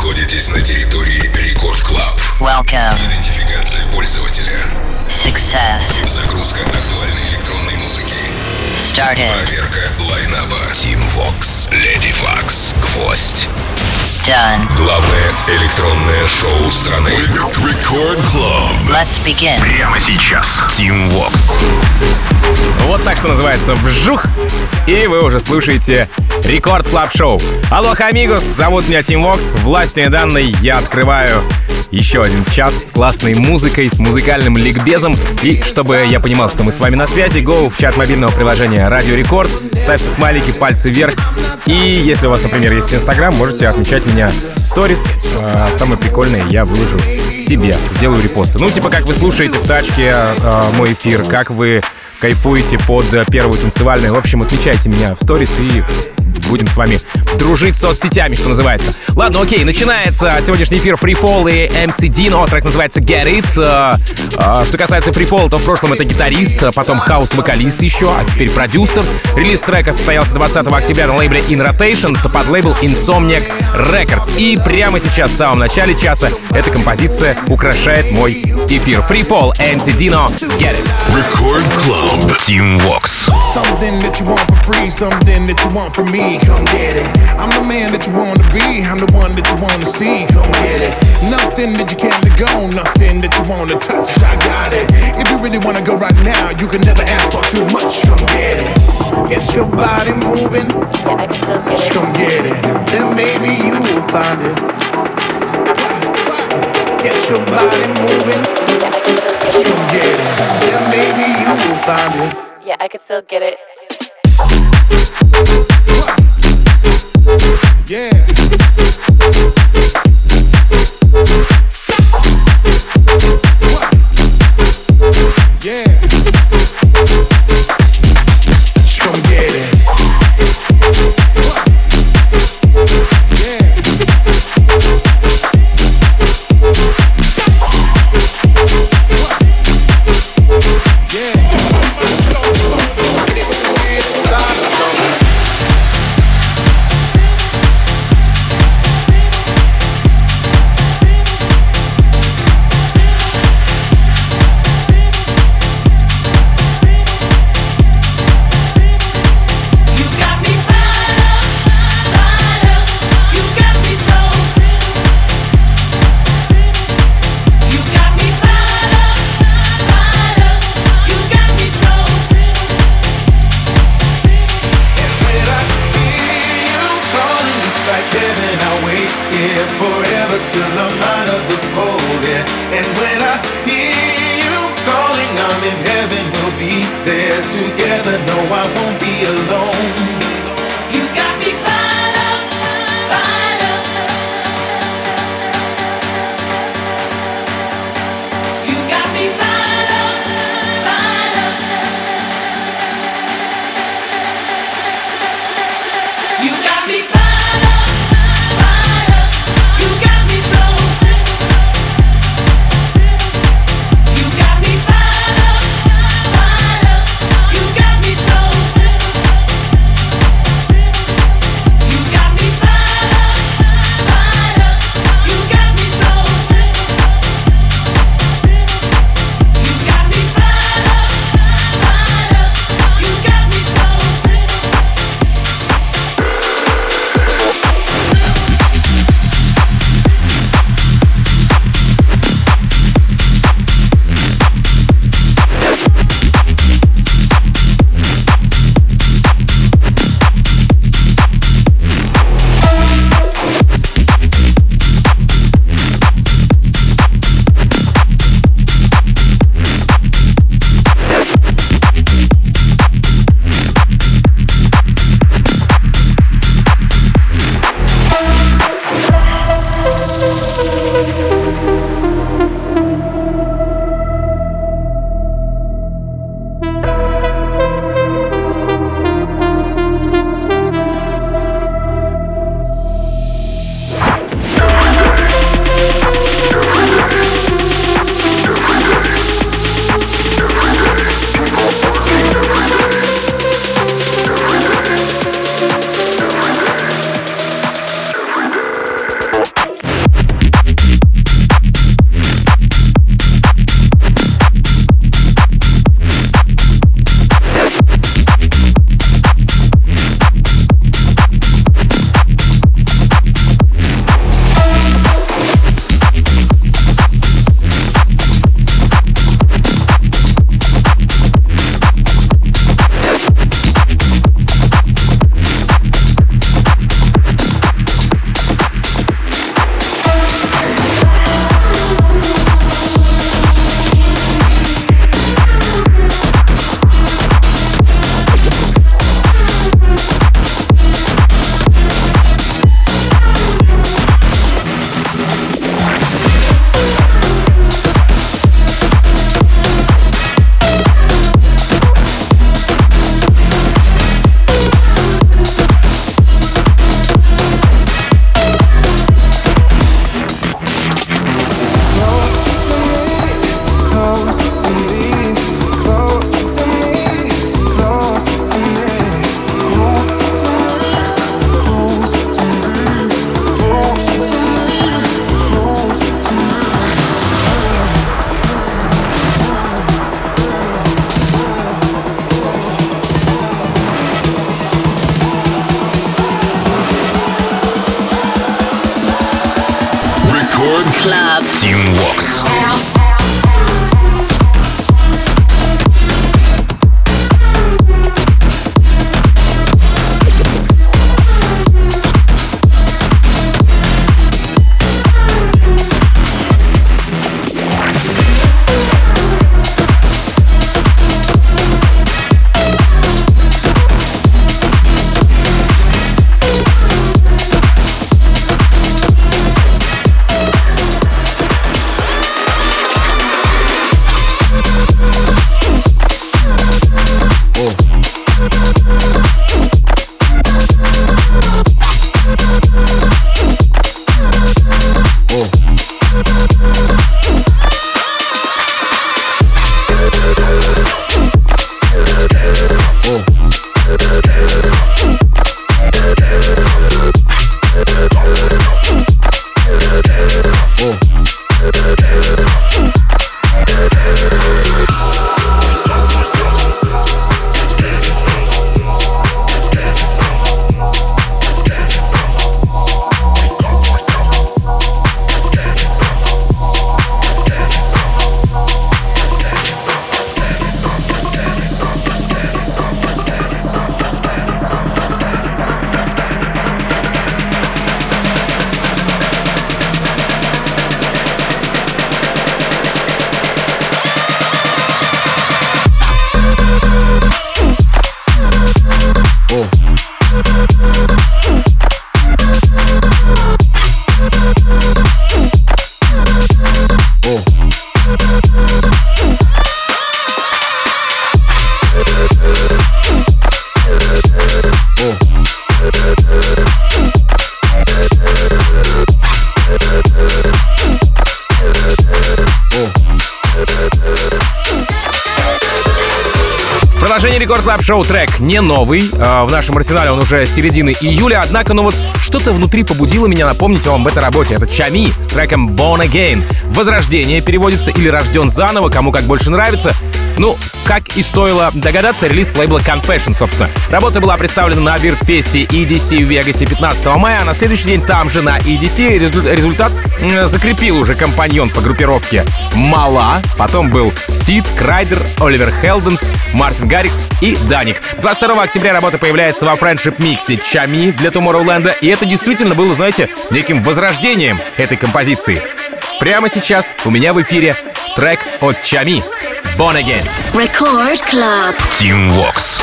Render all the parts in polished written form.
находитесь на территории Рекорд Клаб. Welcome. Идентификация пользователя. Success. Загрузка актуальной электронной музыки. Started. Проверка лайнаба. Team Vox, Lady Vox, Гвоздь. Done. Главное электронное шоу страны. Record Club. Let's begin. Прямо сейчас. Team Vox. Вот так, что называется, вжух, и вы уже слушаете Рекорд Клаб Шоу. Алоха, амигос, зовут меня Team Vox. Властью данной я открываю еще один час с классной музыкой, с музыкальным ликбезом. И чтобы я понимал, что мы с вами на связи, go в чат мобильного приложения Радио Рекорд, ставьте смайлики, пальцы вверх. И если у вас, например, есть Инстаграм, можете отмечать меня в сторис. Самое прикольное я выложу себе, сделаю репосты. Ну, типа, как вы слушаете в тачке мой эфир, как вы кайфуете под первую танцевальную. В общем, отмечайте меня в сторис и будем с вами дружить соцсетями, что называется. Ладно, окей, начинается сегодняшний эфир Free Fall и MC Dino. Трек называется Get It. Что касается Free Fall, то в прошлом это гитарист, потом хаус-вокалист еще, а теперь продюсер. Релиз трека состоялся 20 октября на лейбле In Rotation, это под лейбл Insomniac Records. И прямо сейчас, в самом начале часа, эта композиция украшает мой эфир. Free Fall, MC Dino, Get It. Record Club, Team Vox. Something that you want for free, something that you want from me, come get it. I'm the man that you want to be, I'm the one that you want to see, come get it. Nothing that you can't let go, nothing that you want to touch, I got it. If you really want to go right now, you can never ask for too much, come get it. Get your body moving, just come get it. Then maybe you will find it. Get your body moving, just come get it. Then maybe you will find it. Yeah, I can still get it. Yeah. Yeah. Just come get it. Yeah. Record Club. Team Vox. Рекорд Клаб Шоу трек не новый. В нашем арсенале он уже с середины июля. Однако, что-то внутри побудило меня напомнить вам об этой работе. Это Чами с треком Born Again. Возрождение переводится или рожден заново, кому как больше нравится. Как и стоило догадаться, релиз лейбла Confession, собственно. Работа была представлена на Бирдфесте EDC в Вегасе 15 мая, а на следующий день там же на EDC результат закрепил уже компаньон по группировке Мала. Потом был Сид, Крайдер, Оливер Хелденс, Мартин Гаррикс и Даник. 22 октября работа появляется во Friendship миксе Чами для Tomorrowland, и это действительно было, знаете, неким возрождением этой композиции. Прямо сейчас у меня в эфире трек от Чами Born Again. Record Club. Team Vox.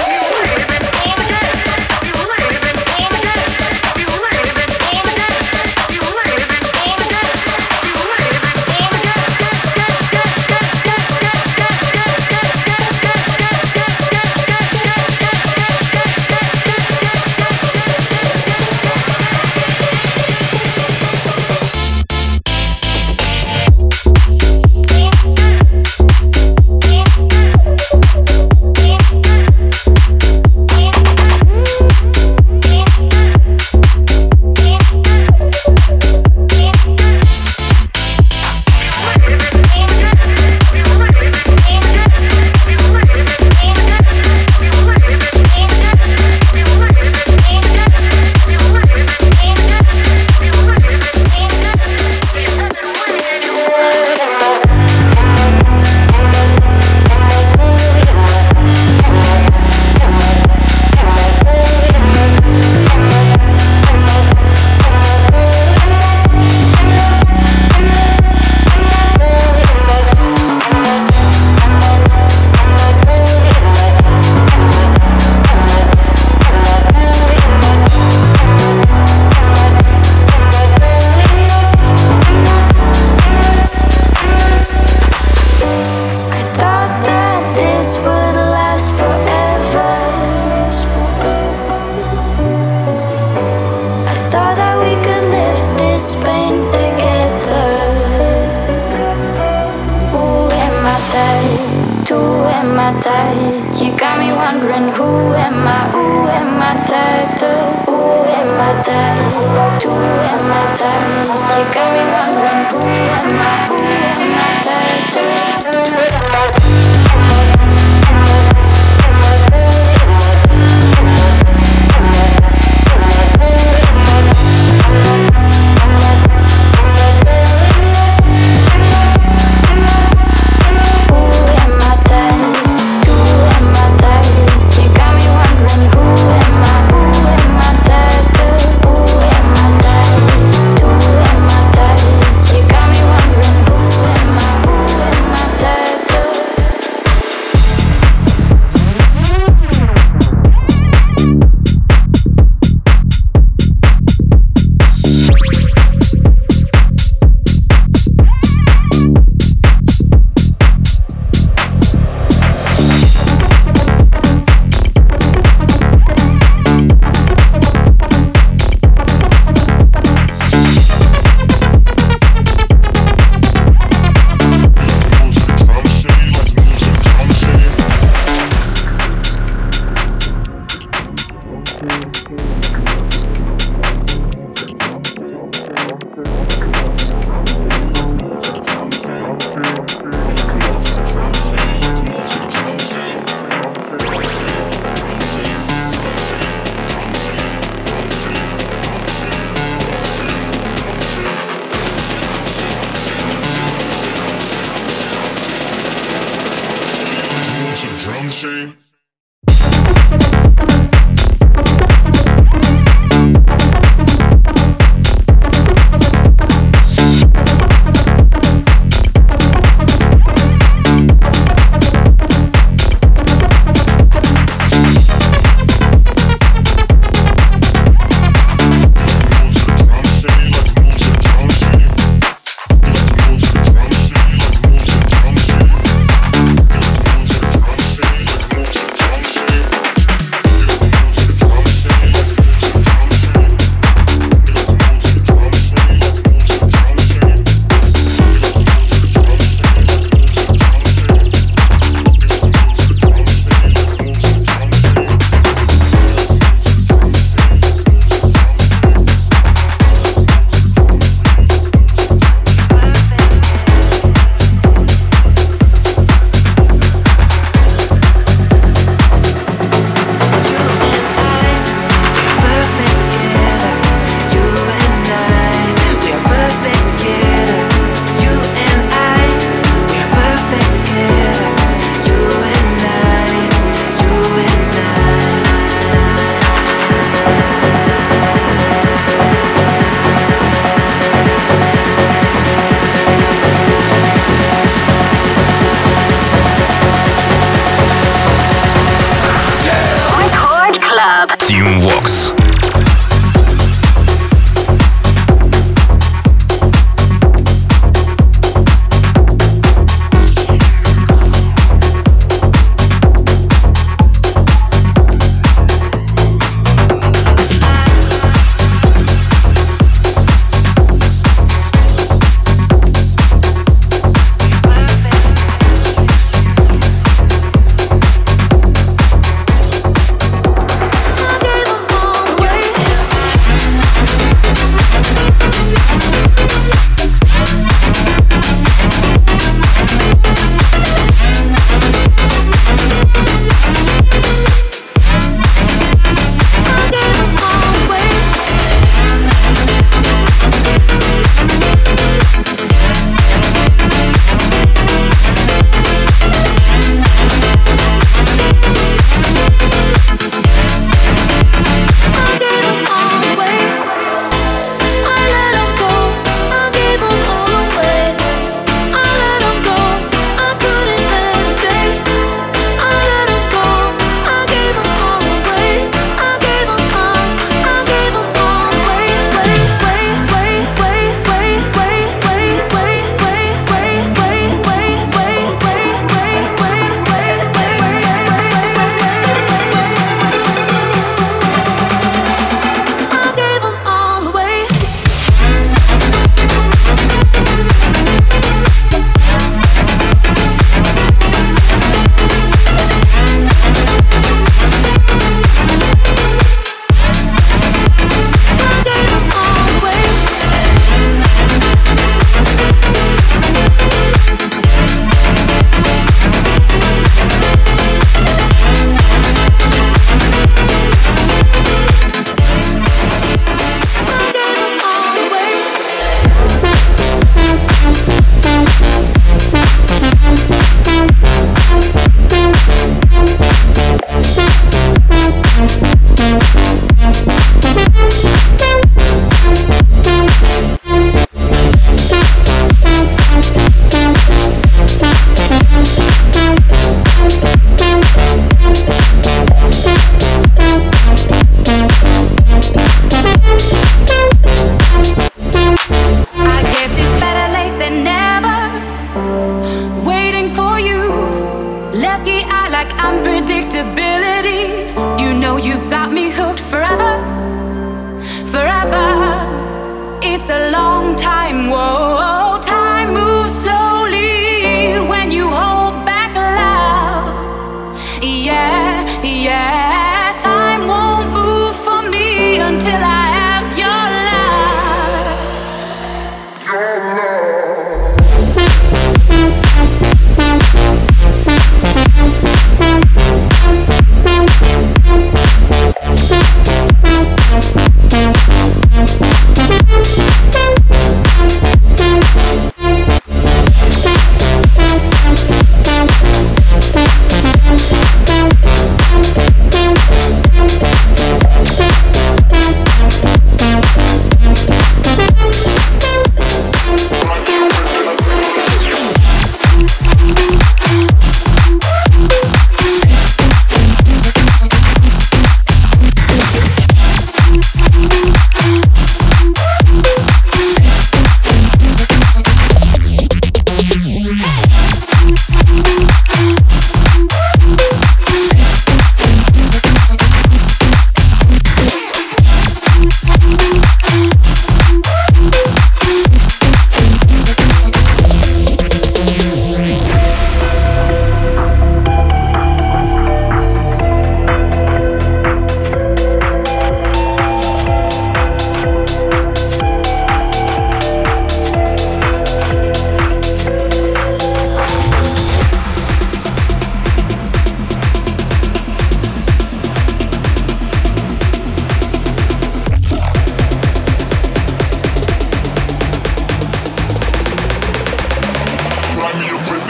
You got me wondering who am I type to? Who am I type to? Who am I type? You got me wondering who am I type to? Team Vox.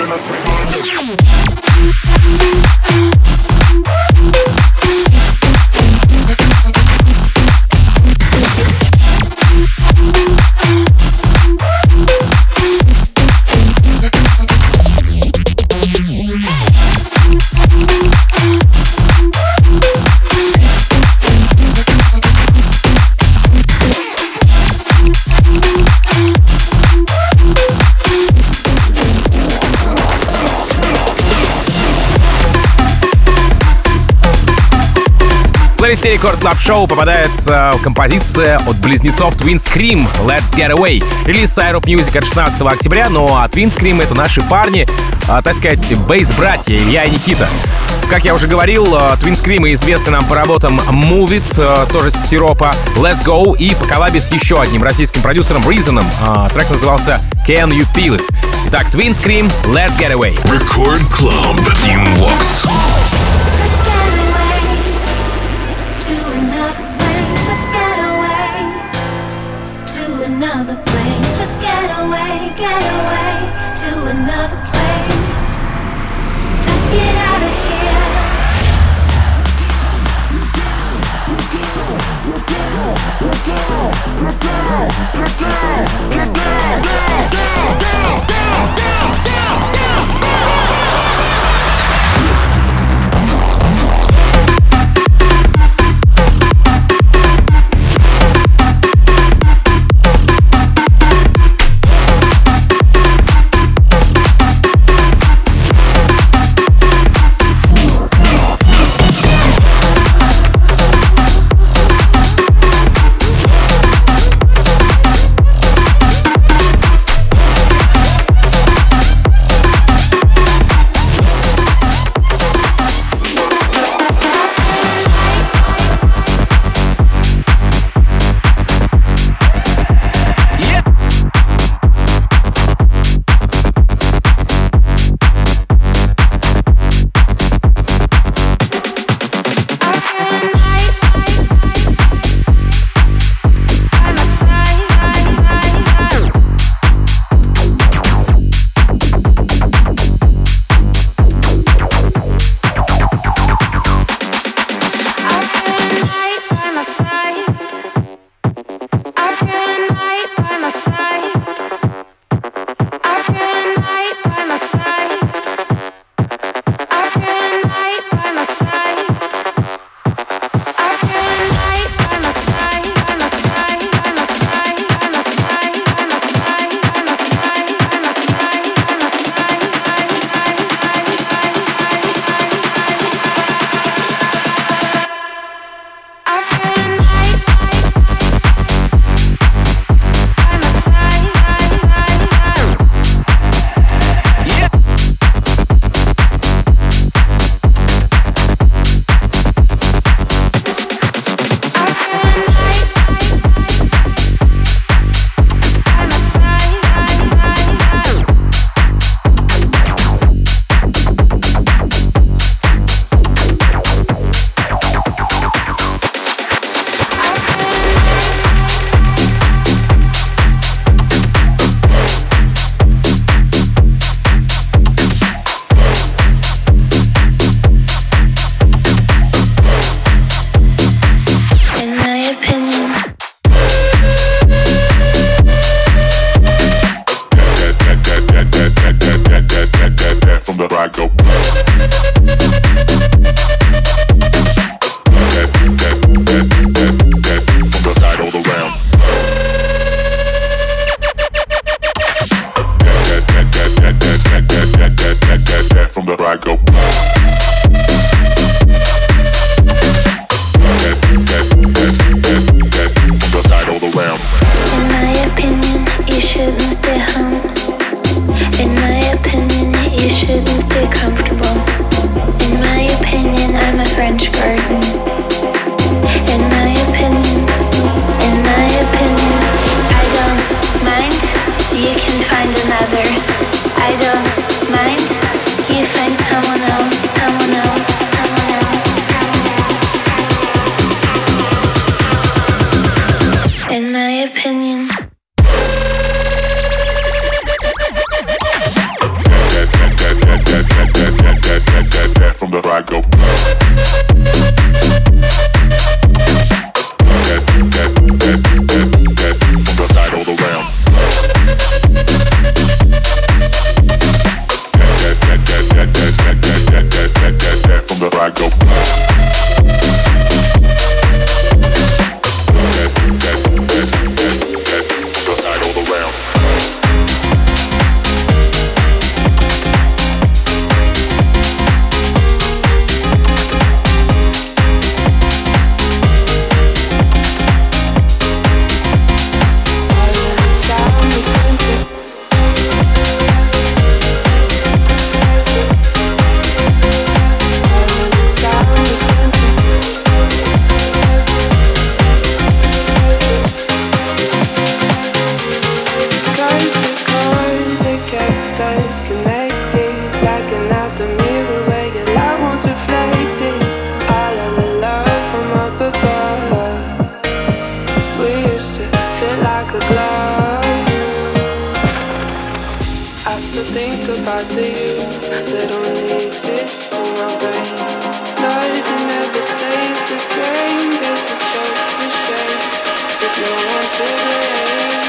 Рекорд Клаб Шоу попадается композиция от близнецов Twin Scream Let's Get Away. Релиз Syrup Music от 16 октября, ну а Twin Scream — это наши парни, так сказать, бейс-братья Илья и Никита. Как я уже говорил, Twin Scream известны нам по работам Move It, тоже с Сиропа, Let's Go и по коллабе с еще одним российским продюсером Reason. Трек назывался Can You Feel It. Итак, Twin Scream Let's Get Away. Record Club Team Vox. Another place, let's get away to another place. Let's get out of here. I go. From the side all around. From the I go. About the you that only exists in my brain. Nothing ever stays the same. Guess it's just a shame with no one to blame.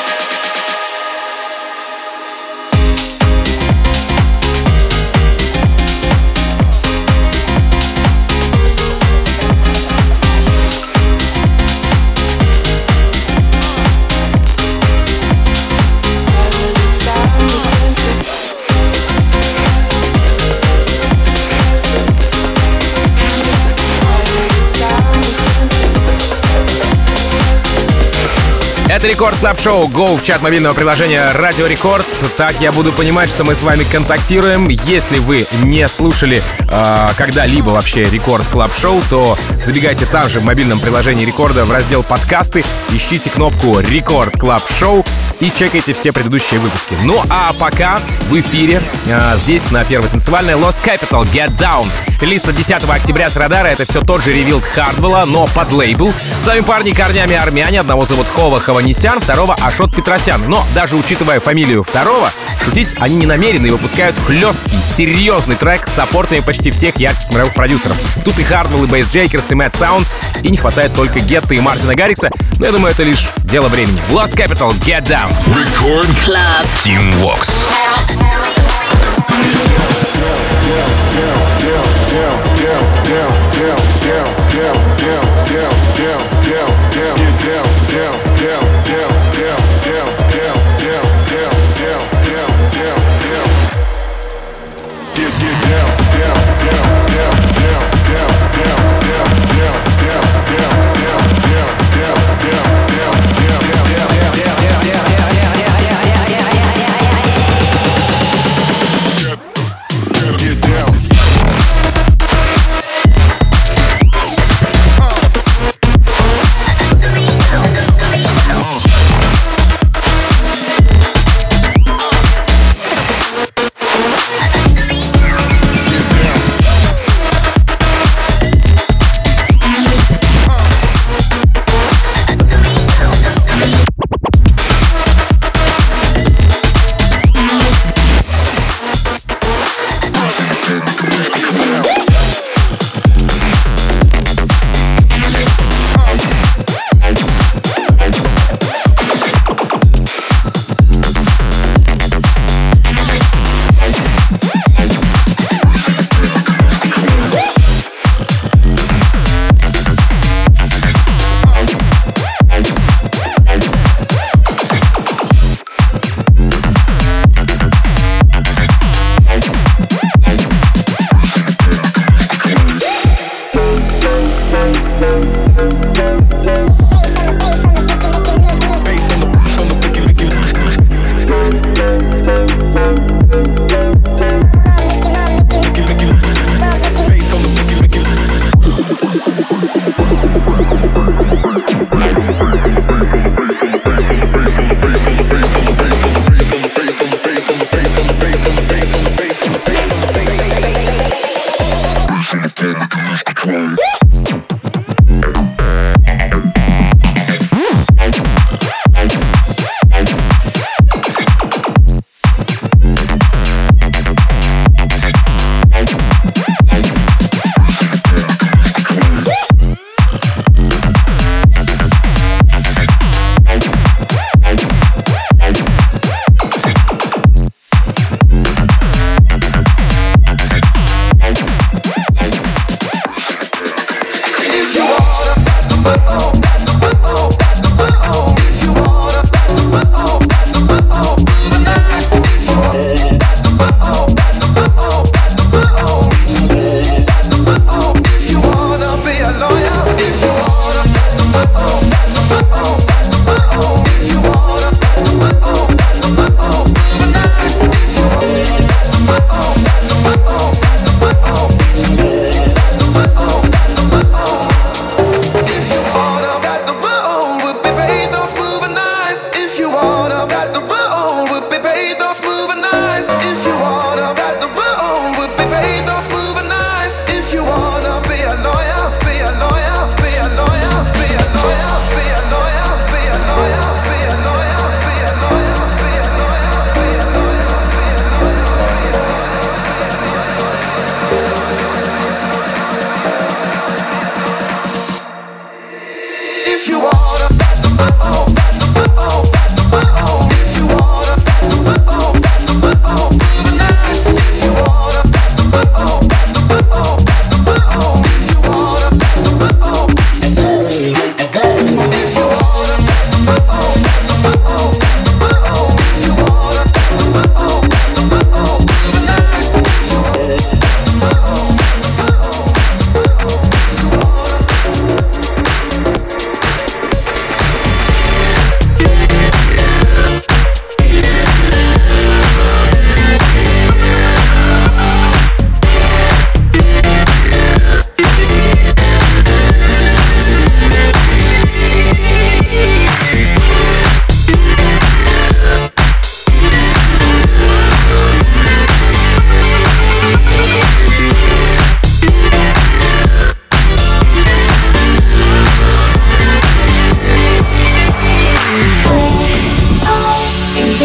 Это Рекорд Клаб Шоу. Go в чат мобильного приложения Радио Рекорд. Так я буду понимать, что мы с вами контактируем. Если вы не слушали когда-либо вообще Рекорд Клаб Шоу, то забегайте там же в мобильном приложении Рекорда в раздел подкасты, ищите кнопку Рекорд Клаб Шоу и чекайте все предыдущие выпуски. Ну а пока в эфире здесь на первой танцевальной Lost Capital Get Down. Релиз 10 октября с радара. Это все тот же ревилд Хардвелла, но под лейбл. С вами парни корнями армяне. Одного зовут Хова Хованесян, второго Ашот Петросян. Но даже учитывая фамилию второго, шутить они не намерены и выпускают хлесткий, серьезный трек с саппортами почти всех ярких мировых продюсеров. Тут и Хардвелл, и Бейс Джейкерс, и Мэтт Саунд. И не хватает только Гетто и Мартина Гаррикса. Но я думаю, это лишь дело времени. Lost Capital Get Down. Record Club Team Vox.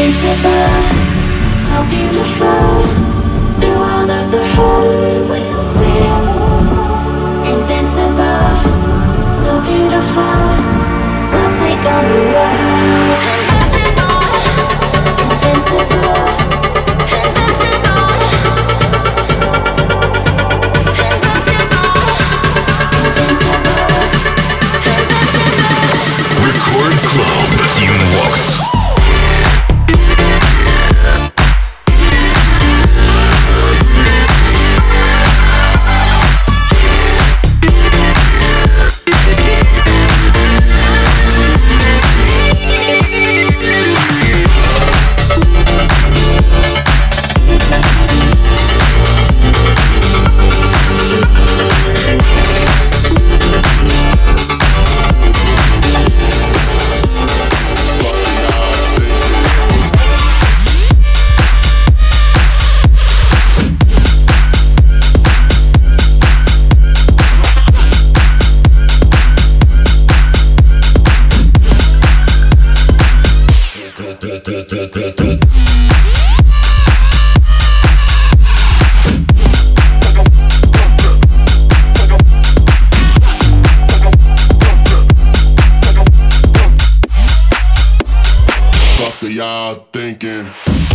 invincible, so beautiful. Through all of the hurt, we'll stand. Invincible, so beautiful. We'll take on the world. Invincible. Record Club Team Vox. Y'all thinking.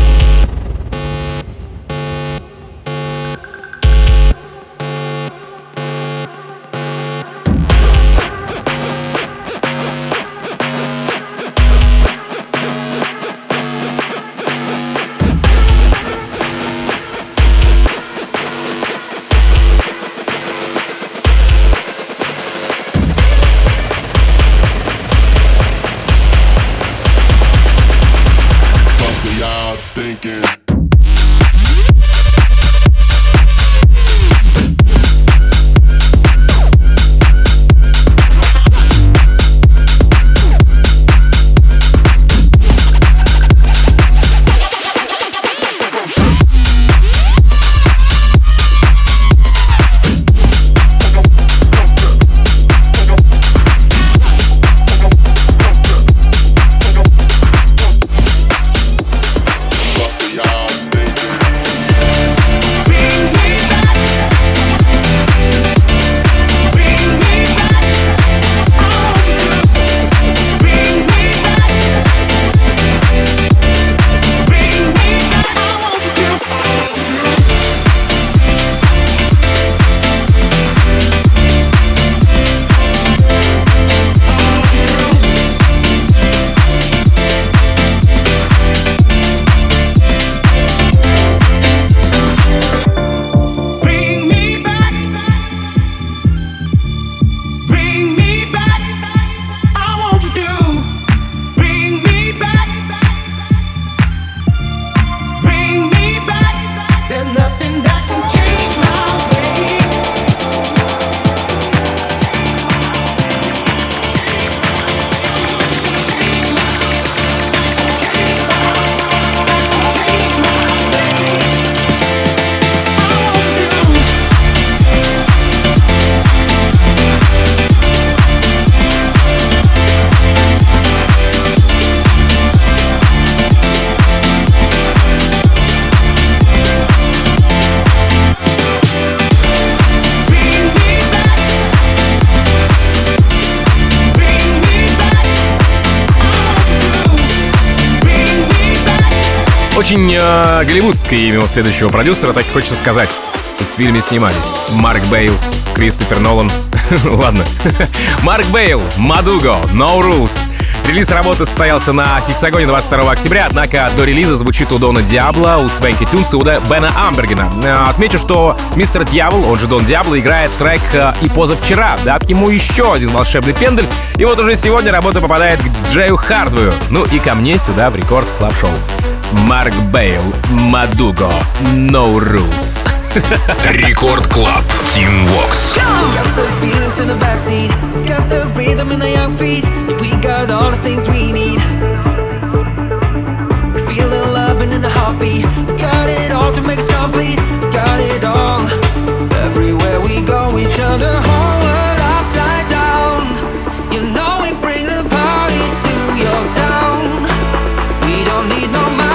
Очень голливудское имя у следующего продюсера, так и хочется сказать. В фильме снимались Марк Бейл, Кристофер Нолан. Ладно. Марк Бейл, Мадуго, No Rules. Релиз работы состоялся на Хексагоне 22 октября, однако до релиза звучит у Дона Диабло, у Свенки Тюнса, у Бена Амбергена. Отмечу, что мистер Дьявол, он же Дон Диабло, играет трек и позавчера, дав ему еще один волшебный пендель. И вот уже сегодня работа попадает к Джею Хардвею. Ну и ко мне сюда в Рекорд Клаб Шоу. Марк Бейл, Мадуго, No Rules. Рекорд Клаб, Team Vox. Got the feelings in the backseat, got the rhythm in the young feet. We got all the things we need. Feeling love and in the heartbeat. Got it all to make us complete. Got it all. Everywhere we go, we turn the whole world upside down. You know we bring the party to your town. We don't need no money.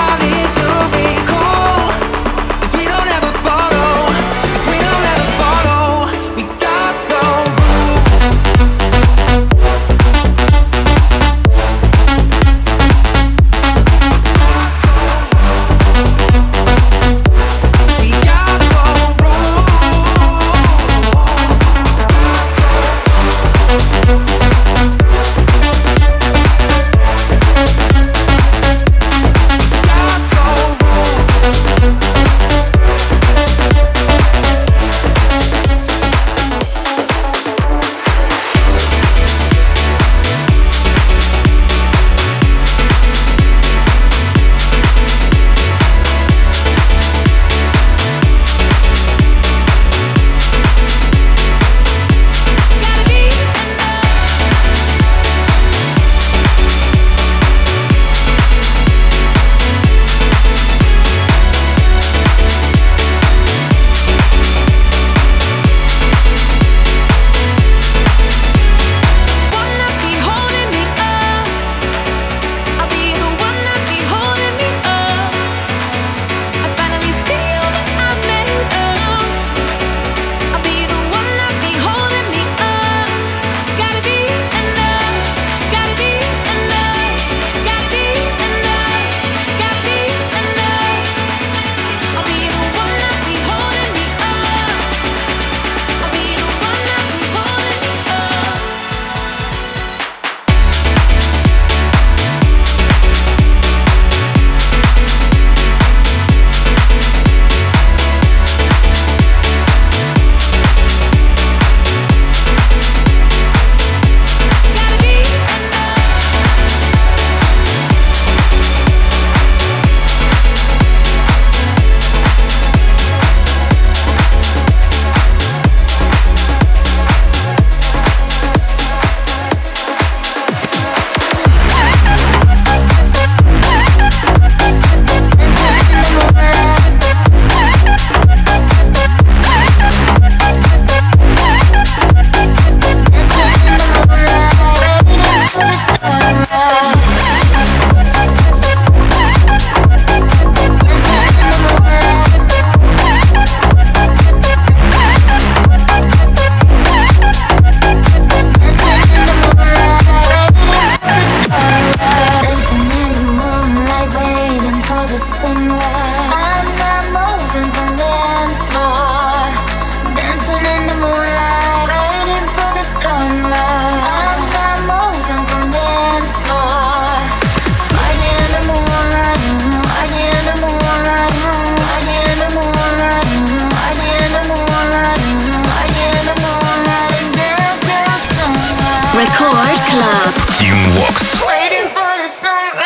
sunrise. I'm not moving from the dance floor, dancing in the moonlight, waiting for the sunrise. I'm not moving from the dance floor, party in the moonlight, party in the moonlight, party in the moonlight, party in the moonlight, party in the moonlight, and dance till the sunrise. Record Club. Team Vox. Waiting for the sunrise.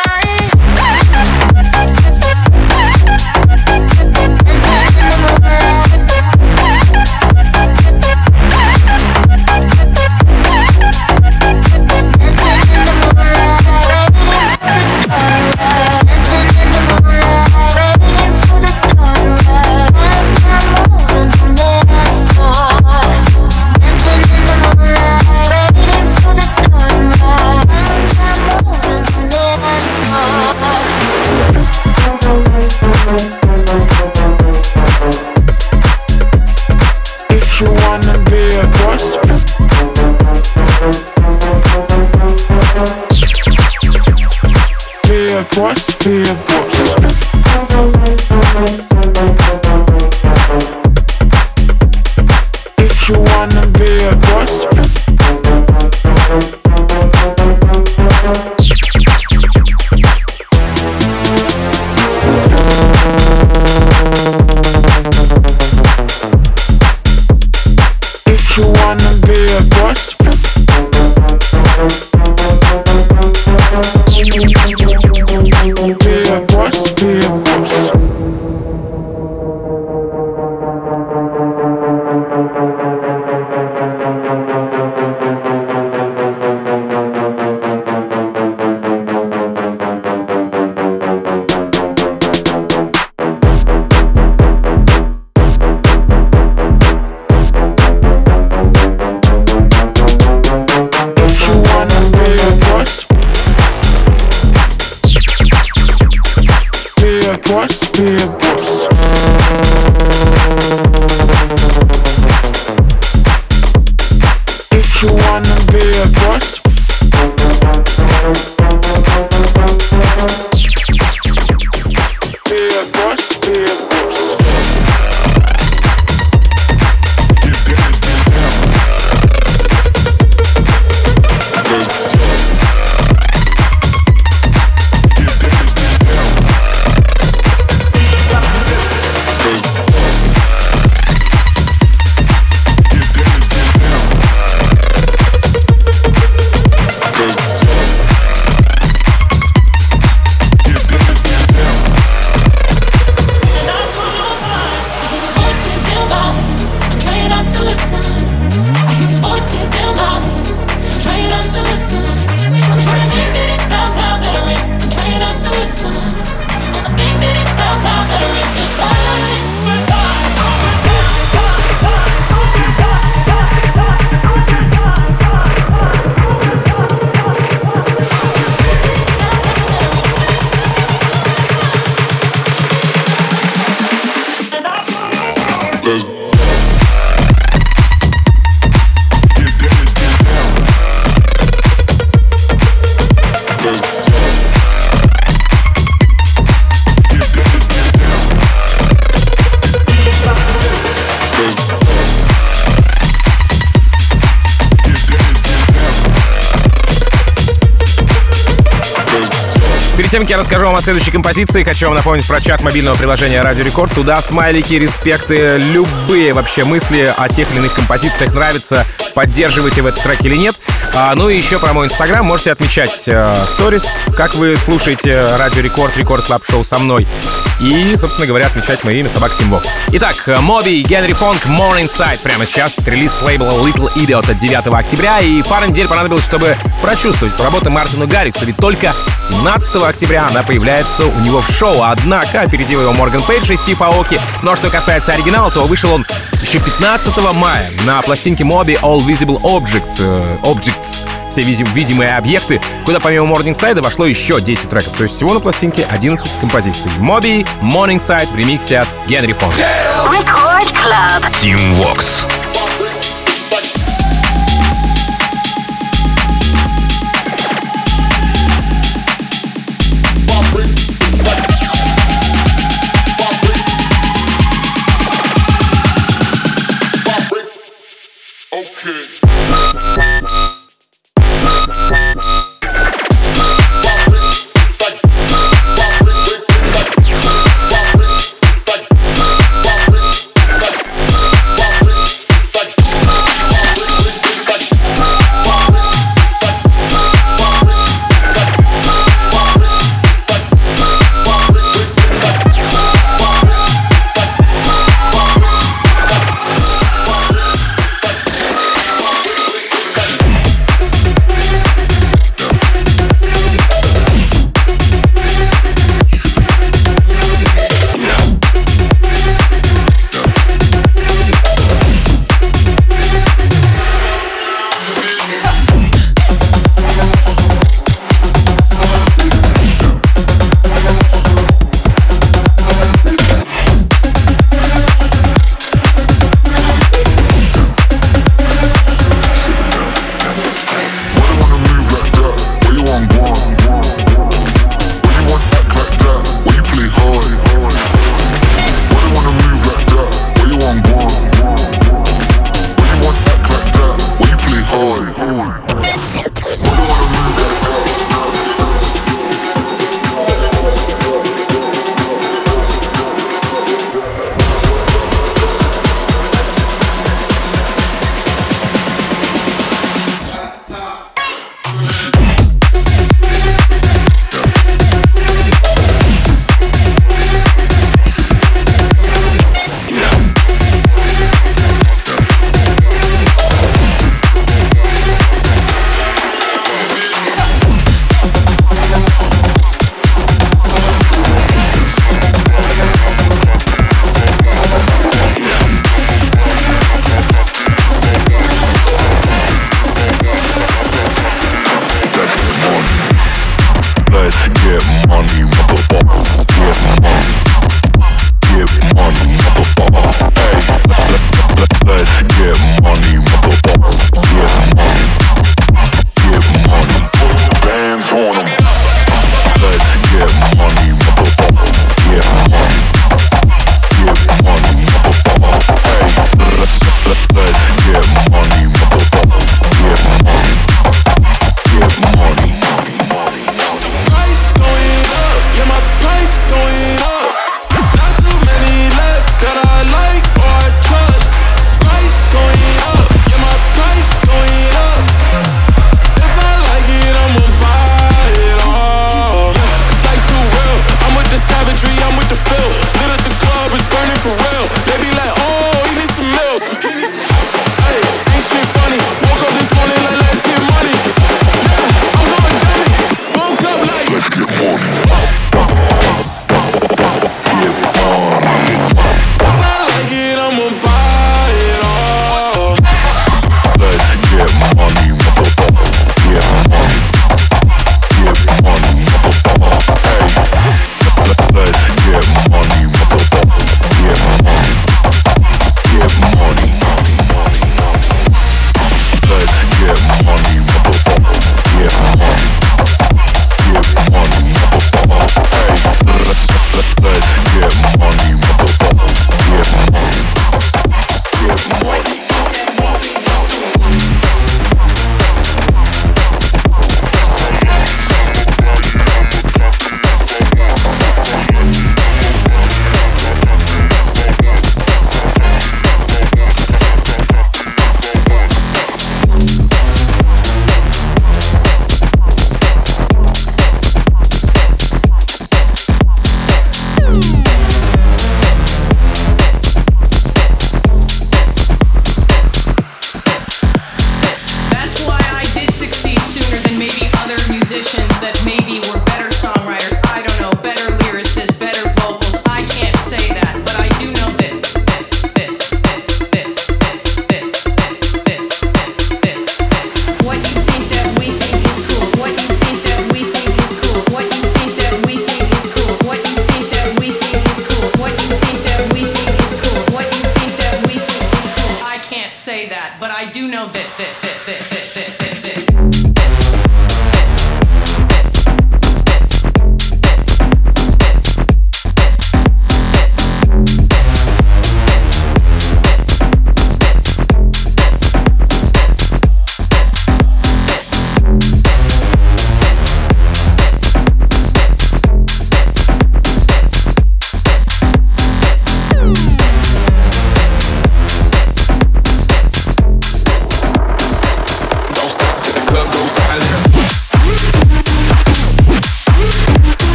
If you wanna be a boss, be a boss, be a boss. If you wanna be a boss, if you wanna be a boss, be a boss, be a boss. If you wanna be a boss, be a boss, be a boss. If you wanna be a boss, be a boss, be a boss. Перед тем, как я расскажу вам о следующей композиции, хочу вам напомнить про чат мобильного приложения Радио Рекорд. Туда смайлики, респекты, любые вообще мысли о тех или иных композициях нравятся, поддерживаете в этот трек или нет. Ну и еще про мой инстаграм. Можете отмечать сторис, как вы слушаете Радио Рекорд, Рекорд Клаб Шоу со мной. И, собственно говоря, отмечать мое имя Собака Team Vox. Итак, Моби, Генри Фонг, Morningside прямо сейчас. Релиз с лейбла Little Idiot от 9 октября. И пару недель понадобилось, чтобы прочувствовать работу Мартину Гарриксу. Ведь только 17 октября она появляется у него в шоу. Однако опередил его Морган Пейдж и Стив Аоки. Но что касается оригинала, то вышел он еще 15 мая на пластинке Моби All Visible Objects. Все видимые объекты, куда помимо Morningside вошло еще 10 треков. То есть всего на пластинке 11 композиций. Моби, Morningside в ремиксе от Генри Фонг. Record Club. Team Vox.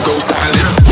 go silent.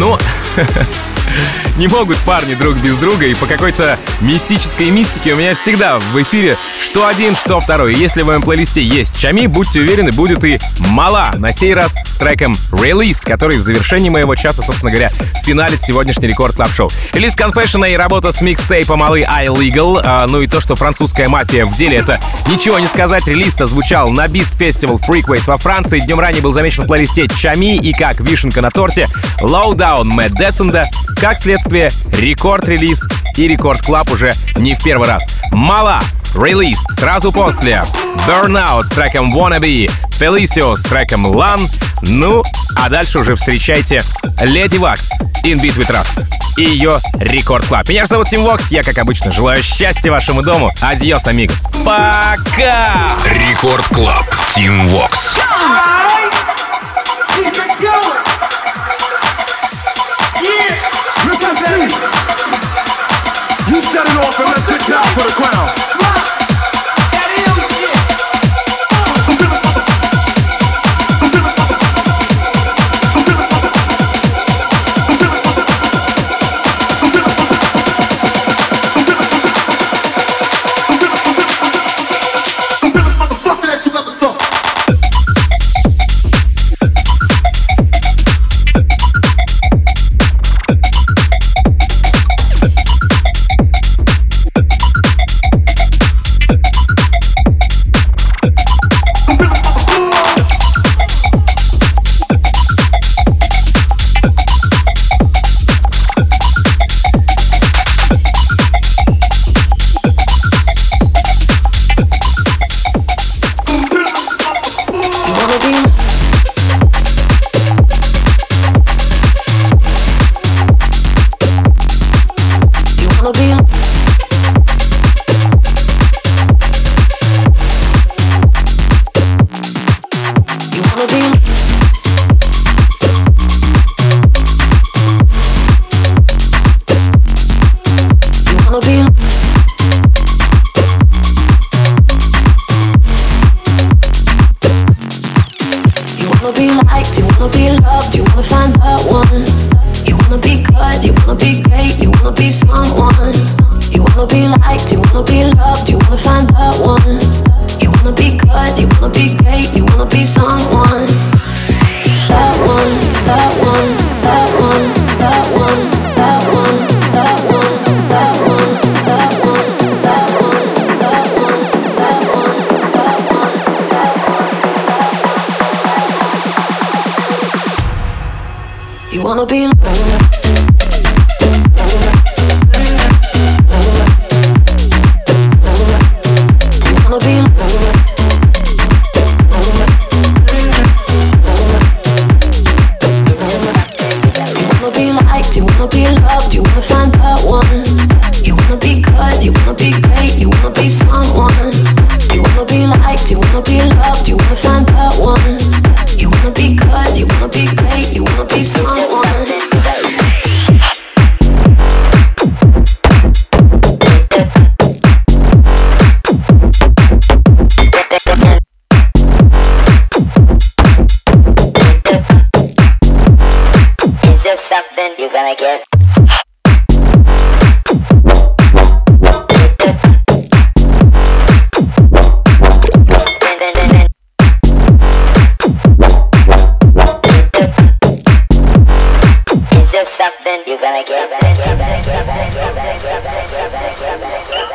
Ну, не могут парни друг без друга, и по какой-то мистической мистике у меня всегда в эфире что один, что второй. И если в моем плейлисте есть Чами, будьте уверены, будет и Мала. На сей раз с треком Released, который в завершении моего часа, собственно говоря, финалит сегодняшний Рекорд Клаб Шоу. Релиз Confession и работа с микстейпом Малы iLegal. Ну и то, что французская мафия в деле, это ничего не сказать. Релиз-то звучал на Beast Festival Freakways во Франции. Днем ранее был замечен в плейлисте Чами и как вишенка на торте Lowdown Мэтт Деценда. Как следствие, рекорд-релиз и Рекорд Клаб уже не в первый раз. Мала, Released, сразу после Burnout с треком Wannabe, Felicio с треком Lan. Ну, а дальше уже встречайте Леди Вакс, In Beat with Rust и ее Рекорд Клаб. Меня же зовут Тим Вокс, я, как обычно, желаю счастья вашему дому. Адьос, амигос. Пока! Рекорд Клаб, Тим Вокс. You set it off and let's get down for the crown.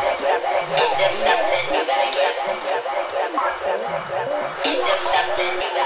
Something